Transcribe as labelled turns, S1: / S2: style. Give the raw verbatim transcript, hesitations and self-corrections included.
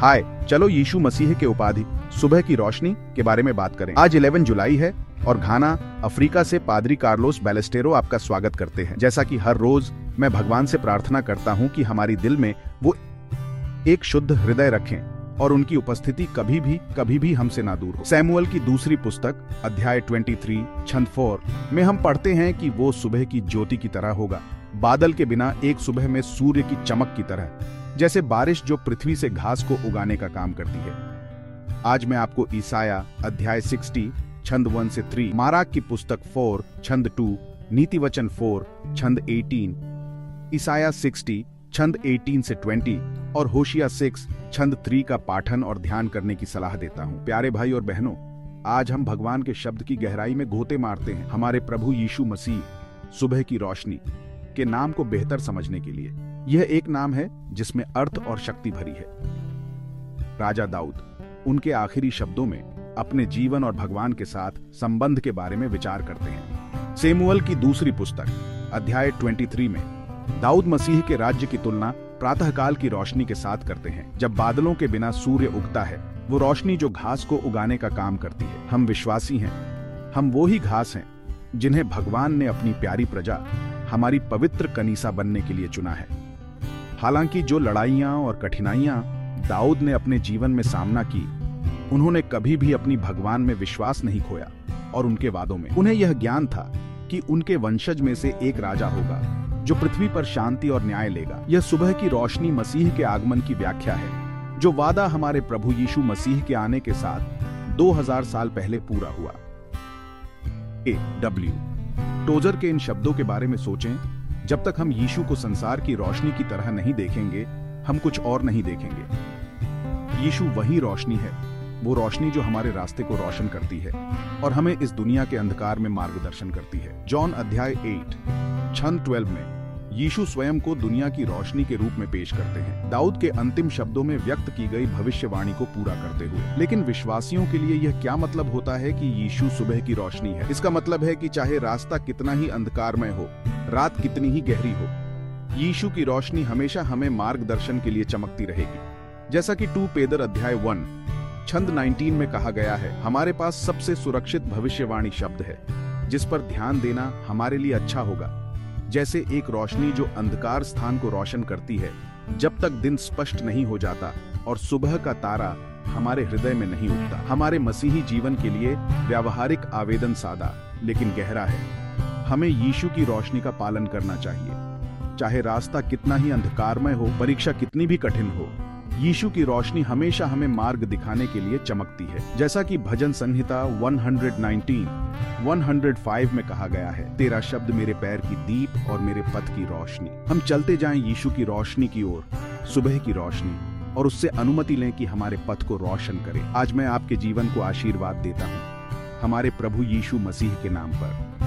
S1: हाय, चलो यीशु मसीह के उपाधि सुबह की रोशनी के बारे में बात करें। आज ग्यारह जुलाई है और घाना अफ्रीका से पादरी कार्लोस बैलेस्टेरो आपका स्वागत करते हैं। जैसा कि हर रोज मैं भगवान से प्रार्थना करता हूं कि हमारी दिल में वो एक शुद्ध हृदय रखें और उनकी उपस्थिति कभी भी कभी भी हमसे ना दूर हो। सैमुअल की दूसरी पुस्तक अध्याय तेईस छंद चार में हम पढ़ते हैं कि वो सुबह की ज्योति की तरह होगा, बादल के बिना एक सुबह में सूर्य की चमक की तरह, जैसे बारिश जो पृथ्वी से घास को उगाने का काम करती है। आज मैं आपको ईसाया अध्याय साठ छंद वन से तीन, माराक की पुस्तक चार छंद दो, नीति वचन चार छंद अठारह, ईसाया साठ छंद अठारह से बीस और होशिया छह छंद तीन का पाठन और ध्यान करने की सलाह देता हूँ। प्यारे भाई और बहनों, आज हम भगवान के शब्द की गहराई में गोते मारते हैं, हमारे प्रभु यीशु मसीह सुबह की रोशनी के नाम को बेहतर समझने के लिए। यह एक नाम है जिसमें अर्थ और शक्ति भरी है। राजा दाऊद उनके आखिरी शब्दों में अपने जीवन और भगवान के साथ संबंध के बारे में विचार करते हैं। सैमुअल की दूसरी पुस्तक अध्याय तेईस में दाऊद मसीह के राज्य की तुलना प्रातःकाल की रोशनी के साथ करते हैं, जब बादलों के बिना सूर्य उगता है। वो रोशनी जो घास को उगाने का काम करती है। हम विश्वासी हैं, हम वो ही घास हैं जिन्हें भगवान ने अपनी प्यारी प्रजा, हमारी पवित्र कनीसा बनने के लिए चुना है। हालांकि जो लड़ाइयां और कठिनाइयां दाऊद ने अपने जीवन में सामना की, उन्होंने कभी भी अपनी भगवान में विश्वास नहीं खोया और उनके वादों में। उन्हें यह ज्ञान था कि उनके वंशज में से एक राजा होगा जो पृथ्वी पर शांति और न्याय लेगा। यह सुबह की रोशनी मसीह के आगमन की व्याख्या है, जो वादा हमारे प्रभु यीशु मसीह के आने के साथ दो हज़ार साल पहले पूरा हुआ। ए डब्ल्यू टोजर के इन शब्दों के बारे में सोचें, जब तक हम यीशु को संसार की रोशनी की तरह नहीं देखेंगे, हम कुछ और नहीं देखेंगे। यीशु वही रोशनी है, वो रोशनी जो हमारे रास्ते को रोशन करती है और हमें इस दुनिया के अंधकार में मार्गदर्शन करती है। जॉन अध्याय आठ छंद बारह में यीशु स्वयं को दुनिया की रोशनी के रूप में पेश करते हैं, दाऊद के अंतिम शब्दों में व्यक्त की गई भविष्यवाणी को पूरा करते हुए। लेकिन विश्वासियों के लिए यह क्या मतलब होता है कि यीशु सुबह की रोशनी है? इसका मतलब है कि चाहे रास्ता कितना ही अंधकारमय हो, रात कितनी ही गहरी हो, यीशु की रोशनी हमेशा हमें मार्गदर्शन के लिए चमकती रहेगी। जैसा कि टू पेदर अध्याय वन छंद उन्नीस में कहा गया है, हमारे पास सबसे सुरक्षित भविष्यवाणी शब्द है जिस पर ध्यान देना हमारे लिए अच्छा होगा। जैसे एक रोशनी जो अंधकार स्थान को रोशन करती है जब तक दिन स्पष्ट नहीं हो जाता और सुबह का तारा हमारे हृदय में नहीं उगता। हमारे मसीही जीवन के लिए व्यावहारिक आवेदन सादा लेकिन गहरा है। हमें यीशु की रोशनी का पालन करना चाहिए, चाहे रास्ता कितना ही अंधकारमय हो, परीक्षा कितनी भी कठिन हो। यीशु की रोशनी हमेशा हमें मार्ग दिखाने के लिए चमकती है। जैसा कि भजन संहिता एक सौ उन्नीस, एक सौ पाँच में कहा गया है, तेरा शब्द मेरे पैर की दीप और मेरे पथ की रोशनी। हम चलते जाएं यीशु की रोशनी की ओर, सुबह की रोशनी, और उससे अनुमति लें कि हमारे पथ को रोशन करे। आज मैं आपके जीवन को आशीर्वाद देता हूँ हमारे प्रभु यीशु मसीह के नाम पर।